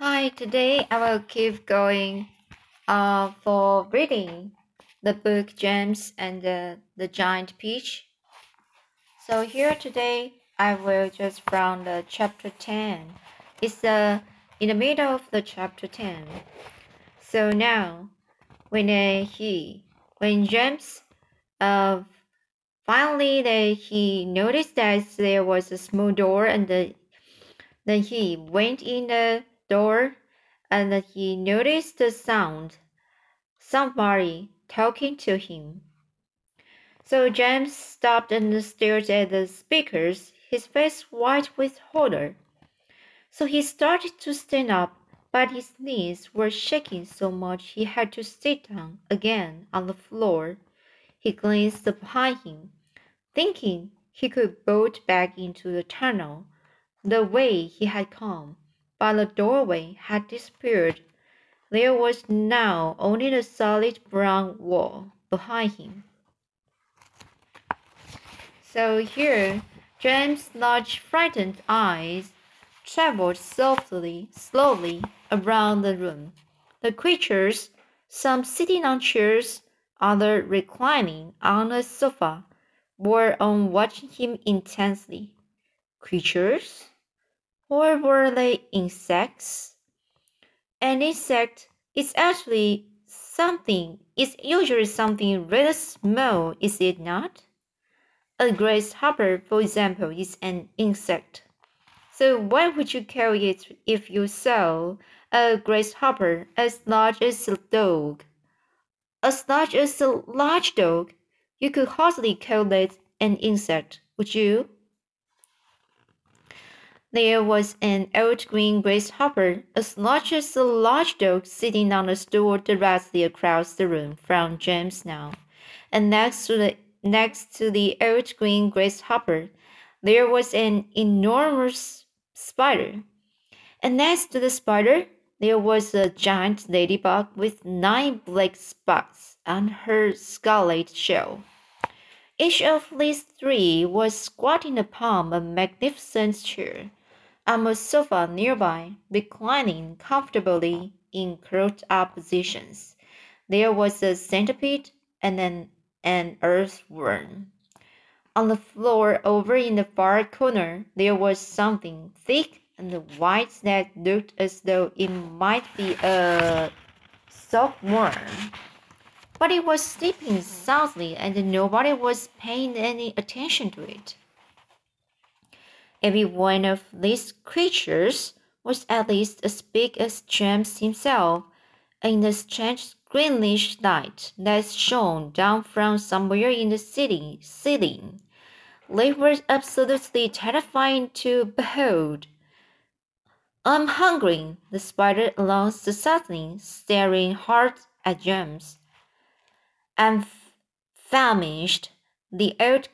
Hi, today I will keep going for reading the book James and the Giant Peach. So here today I will just from the chapter 10. It's in the middle of the chapter 10. So now when James uh finally he noticed that there was a small door and then he went in the door and he noticed the sound. Somebody talking to him. So James stopped and stared at the speakers, his face white with horror. So he started to stand up, but his knees were shaking so much he had to sit down again on the floor. He glanced behind him, thinking he could bolt back into the tunnel the way he had come, but the doorway had disappeared. There was now only the solid brown wall behind him. So here, James' large frightened eyes traveled slowly around the room. The creatures, some sitting on chairs, others reclining on a sofa, were on watching him intensely. Creatures? Or were they insects? An insect is usually something really small, is it not? A grasshopper, for example, is an insect. So what would you call it if you saw a grasshopper as large as a dog? As large as a large dog, you could hardly call it an insect, would you? There was an old green grasshopper as large as a large dog sitting on a stool directly across the room from James now, and next to the old green grasshopper, there was an enormous spider, and next to the spider, there was a giant ladybug with 9 black spots on her scarlet shell. Each of these three was squatting upon a magnificent chair on a sofa nearby, reclining comfortably in curled-up positions. There was a centipede and an earthworm. On the floor over in the far corner, there was something thick and white that looked as though it might be a silkworm. But it was sleeping soundly and nobody was paying any attention to it. Every one of these creatures was at least as big as James himself, and in the strange greenish light that shone down from somewhere in the ceiling, they were absolutely terrifying to behold. I'm hungry, the spider announced suddenly, staring hard at James. I'm famished, the old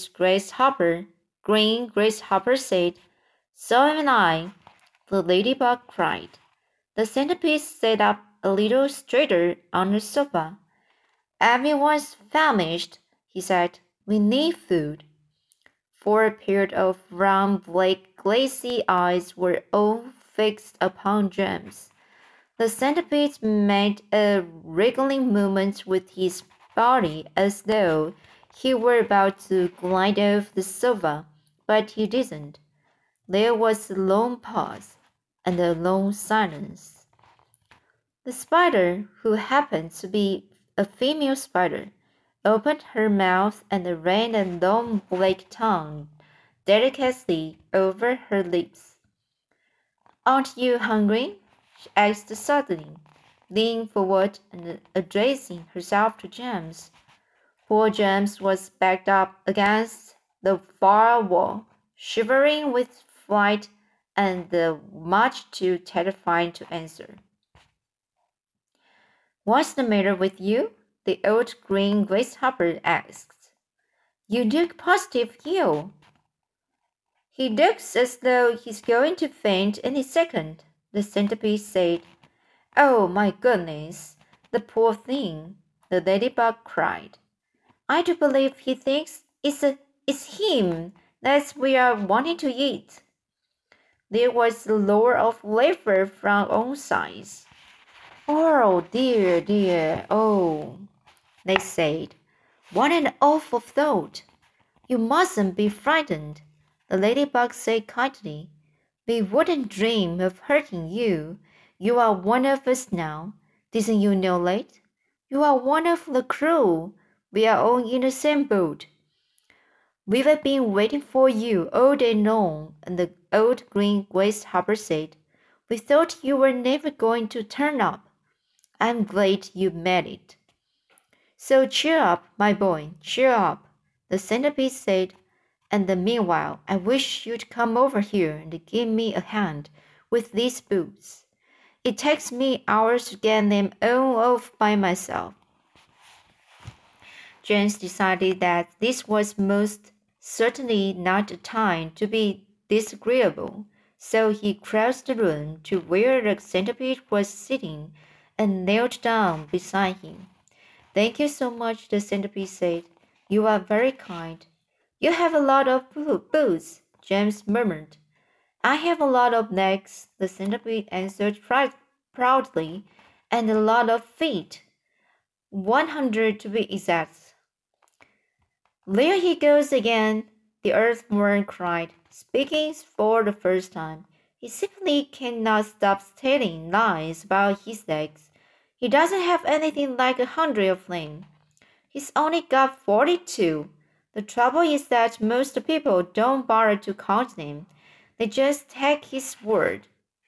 green grasshopper said. So am I, the ladybug cried. The centipede sat up a little straighter on the sofa. Everyone's famished, he said. We need food. For a pair of round, black, glassy eyes were all fixed upon James. The centipede made a wriggling movement with his body as though he were about to glide off the sofa, but he didn't. There was a long pause and a long silence. The spider, who happened to be a female spider, opened her mouth and ran a long black tongue delicately over her lips. Aren't you hungry? She asked suddenly, leaning forward and addressing herself to James. Poor James was backed up against the far wall, shivering with fright and much too terrified to answer. What's the matter with you? The old green grasshopper asked. You look positive ill. He looks as though he's going to faint any second, the centipede said. Oh, my goodness, the poor thing, the ladybug cried. I do believe he thinks it's him that we are wanting to eat. There was a roar of laughter from all sides. Oh, dear, dear, oh, they said. What an awful thought! You mustn't be frightened, the ladybug said kindly. We wouldn't dream of hurting you. You are one of us now. Didn't you know that? You are one of the crew. We are all in the same boat. We've been waiting for you all day long, and the old green grasshopper said. We thought you were never going to turn up. I'm glad you made it. So cheer up, my boy, cheer up, the centipede said. And meanwhile, I wish you'd come over here and give me a hand with these boots. It takes me hours to get them all off by myself. James decided that this was most certainly not a time to be disagreeable, so he crossed the room to where the centipede was sitting and knelt down beside him. Thank you so much, the centipede said. You are very kind. You have a lot of boots, James murmured. I have a lot of legs, the centipede answered proudly, and a lot of feet. 100 to be exact. There he goes again, the earthworm cried, speaking for the first time. He simply cannot stop telling lies about his legs. He doesn't have anything like 100 of them. He's only got 42. The trouble is that most people don't bother to count them. They just take his word.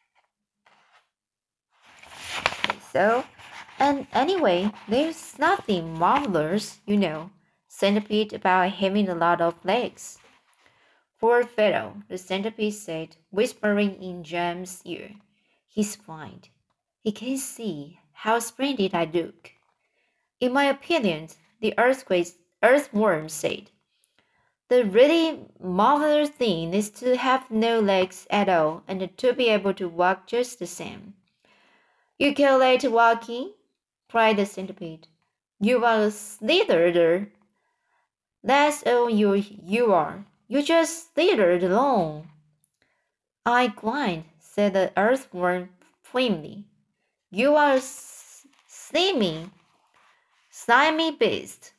So, and anyway, there's nothing marvelous, centipede, about having a lot of legs. Poor fellow, the centipede said, whispering in Jam's ear. He's blind. He can't see how splendid I look. In my opinion, the earthworm said, the really marvelous thing is to have no legs at all and to be able to walk just the same. You call that walking? Cried the centipede. You are a slitherer. That's all you are. You just slithered along. I grind, said the earthworm firmly. You are a slimy beast.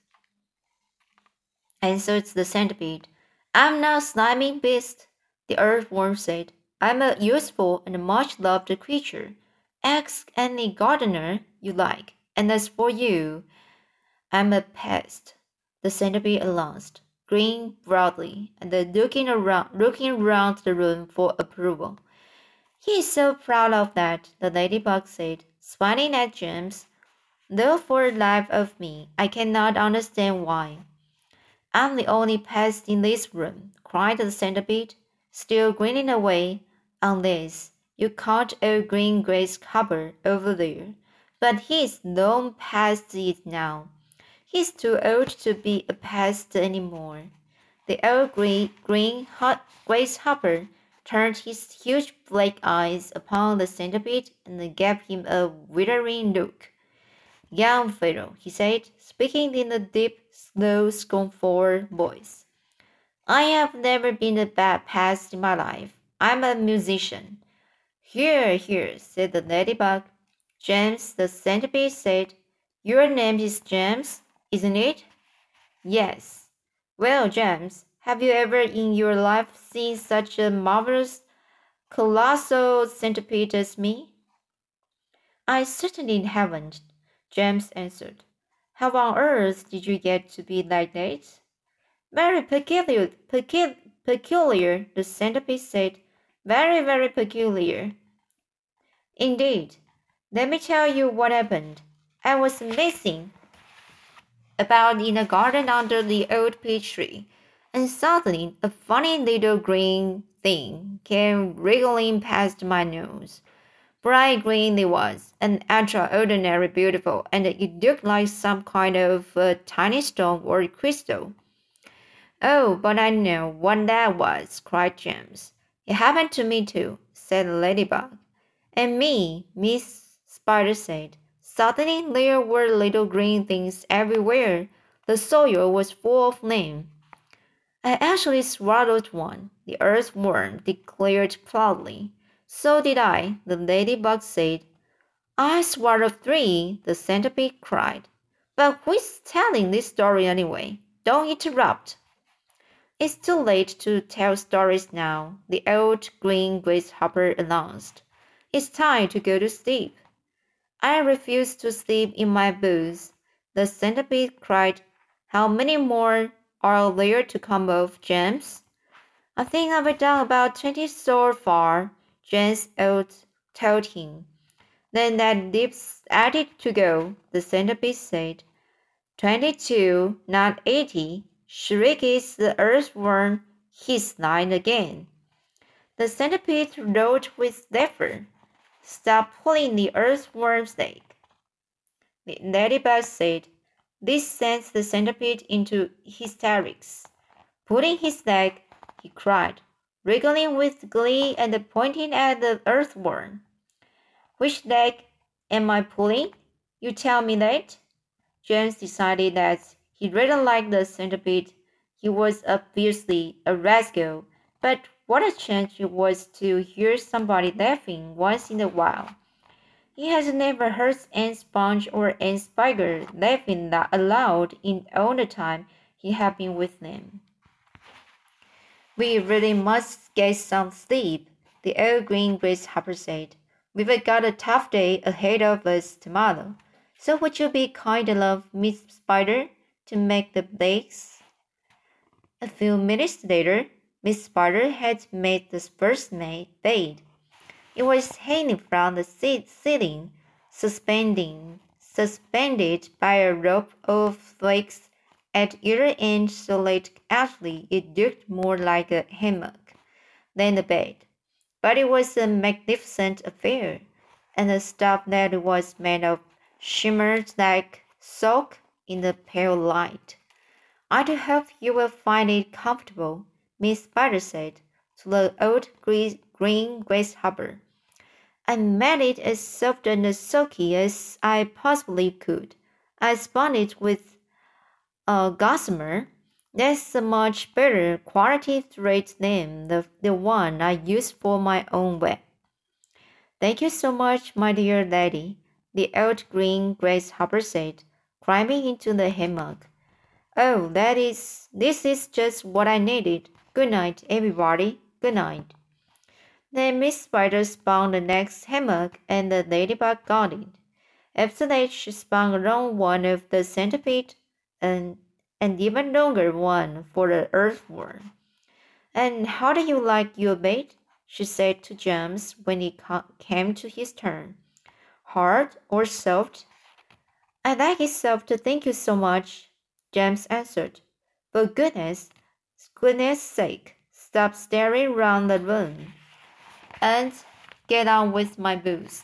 Answered the centipede. I'm not a slimy beast, the earthworm said. I'm a useful and much loved creature. Ask any gardener you like. And as for you, I'm a pest, the centipede announced, grinning broadly and looking around the room for approval. He's so proud of that, the ladybug said, smiling at James. Though for the life of me, I cannot understand why. I'm the only pest in this room, cried the centipede, still grinning away, unless you count old green grasshopper over there. But he's long past it now. He's too old to be a pest any more. The old green grasshopper turned his huge black eyes upon the centipede and gave him a withering look. Young fellow, he said, speaking in a deep, slow, scornful voice. I have never been a bad pest in my life. I'm a musician. Here, here, said the ladybug. James, the centipede said, your name is James, isn't it? Yes. Well, James, have you ever in your life seen such a marvelous, colossal centipede as me? I certainly haven't, James answered. How on earth did you get to be like that? Very peculiar, the centipede said. Very, very peculiar. Indeed. Let me tell you what happened. I was messing about in a garden under the old peach tree, and suddenly a funny little green thing came wriggling past my nose. Bright green it was, and extraordinarily beautiful, and it looked like some kind of tiny stone or crystal. Oh, but I know what that was, cried James. It happened to me too, said the ladybug. And me, Miss Spider said. Suddenly there were little green things everywhere. The soil was full of them. I actually swallowed one, the earthworm declared proudly. So did I, the ladybug said. I swallowed three, the centipede cried. But who's telling this story anyway? Don't interrupt. It's too late to tell stories now, the old green grasshopper announced. It's time to go to sleep. I refuse to sleep in my booth, the centipede cried. How many more are there to come off, James? I think I've done about 20 so far, James told him. Then that leaves 80 to go, the centipede said. 22, not 80, shrieked the earthworm, his line again. The centipede roared with laughter. Stop pulling the earthworm's leg, the ladybug said. This sends the centipede into hysterics. Pulling his leg, he cried, wriggling with glee and pointing at the earthworm. Which leg am I pulling? You tell me that? James decided that he really liked the centipede. He was obviously a rascal, but what a chance it was to hear somebody laughing once in a while. He has never heard Aunt Sponge or Aunt Spider laughing aloud in all the time he had been with them. We really must get some sleep, the old green grasshopper said. We've got a tough day ahead of us tomorrow. So would you be kind enough, Miss Spider, to make the bakes? A few minutes later, Miss Spider had made the first bed. It was hanging from the ceiling, suspended by a rope of flakes at either end so that actually it looked more like a hammock than a bed. But it was a magnificent affair, and the stuff that it was made of shimmered like silk in the pale light. I do hope you will find it comfortable, Miss Spider said to the old green grasshopper. I made it as soft and as silky as I possibly could. I spun it with a gossamer. That's a much better quality thread than the one I use for my own web. Thank you so much, my dear lady, the old green grasshopper said, climbing into the hammock. Oh, this is just what I needed. Good night, everybody. Good night. Then Miss Spider spun the next hammock, and the ladybug got it. After that, she spun a long one of the centipede, and an even longer one for the earthworm. And how do you like your bait? She said to James when it came to his turn. Hard or soft? I like it soft, thank you so much, James answered. For goodness sake, stop staring round the room and get on with my boost.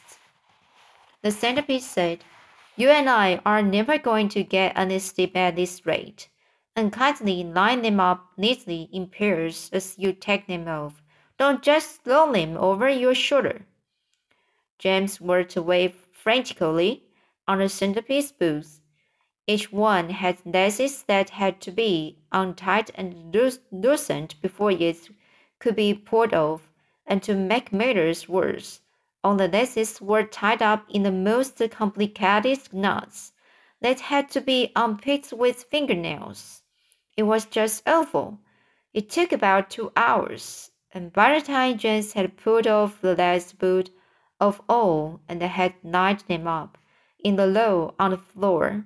The centipede said, You and I are never going to get any sleep at this rate. And kindly line them up neatly in pairs as you take them off. Don't just throw them over your shoulder. James worked away frantically on the centipede's boots. Each one had laces that had to be untied and loosened before it could be pulled off, and to make matters worse, all the laces were tied up in the most complicated knots that had to be unpicked with fingernails. It was just awful. It took about 2 hours, and by the time James had pulled off the last boot of all and had lined them up in the row on the floor,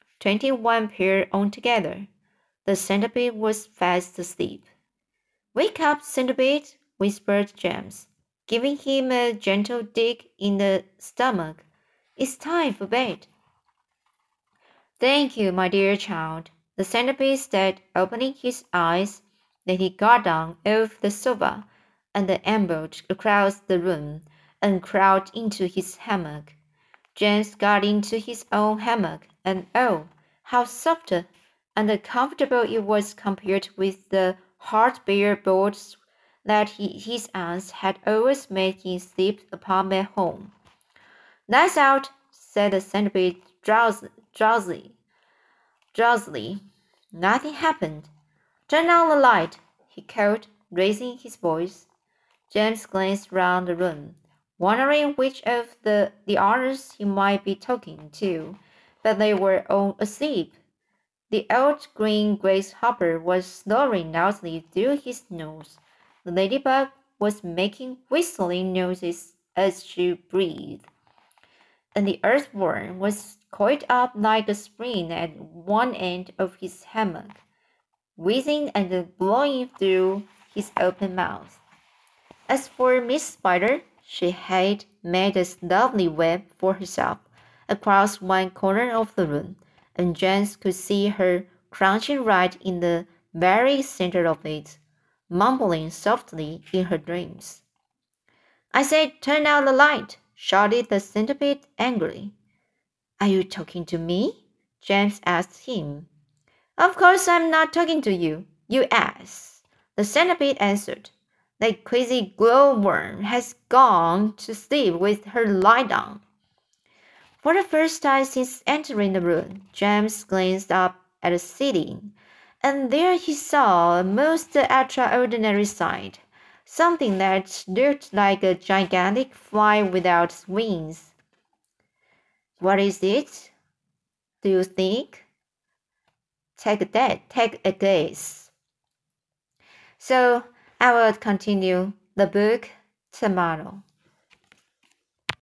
21 pair altogether, the centipede was fast asleep. Wake up, centipede, whispered James, giving him a gentle dig in the stomach. It's time for bed. Thank you, my dear child, the centipede said, opening his eyes. Then he got down off the sofa and ambled across the room and crawled into his hammock. James got into his own hammock, and oh, how soft and comfortable it was compared with the hard bare boards that his aunts had always made him sleep upon at home. Lights out, said the centipede drowsily. Nothing happened. Turn on the light, he called, raising his voice. James glanced round the room, wondering which of the others he might be talking to, but they were all asleep. The old green grasshopper was snoring loudly through his nose. The ladybug was making whistling noises as she breathed, and the earthworm was coiled up like a spring at one end of his hammock, wheezing and blowing through his open mouth. As for Miss Spider, she had made a lovely web for herself across one corner of the room, and James could see her crouching right in the very center of it, mumbling softly in her dreams. I said, turn out the light, shouted the centipede angrily. Are you talking to me? James asked him. Of course I'm not talking to you, you ass, the centipede answered. That crazy glowworm has gone to sleep with her light on. For the first time since entering the room, James glanced up at the ceiling, and there he saw a most extraordinary sight, something that looked like a gigantic fly without wings. What is it? Do you think? Take a guess. So I will continue the book tomorrow.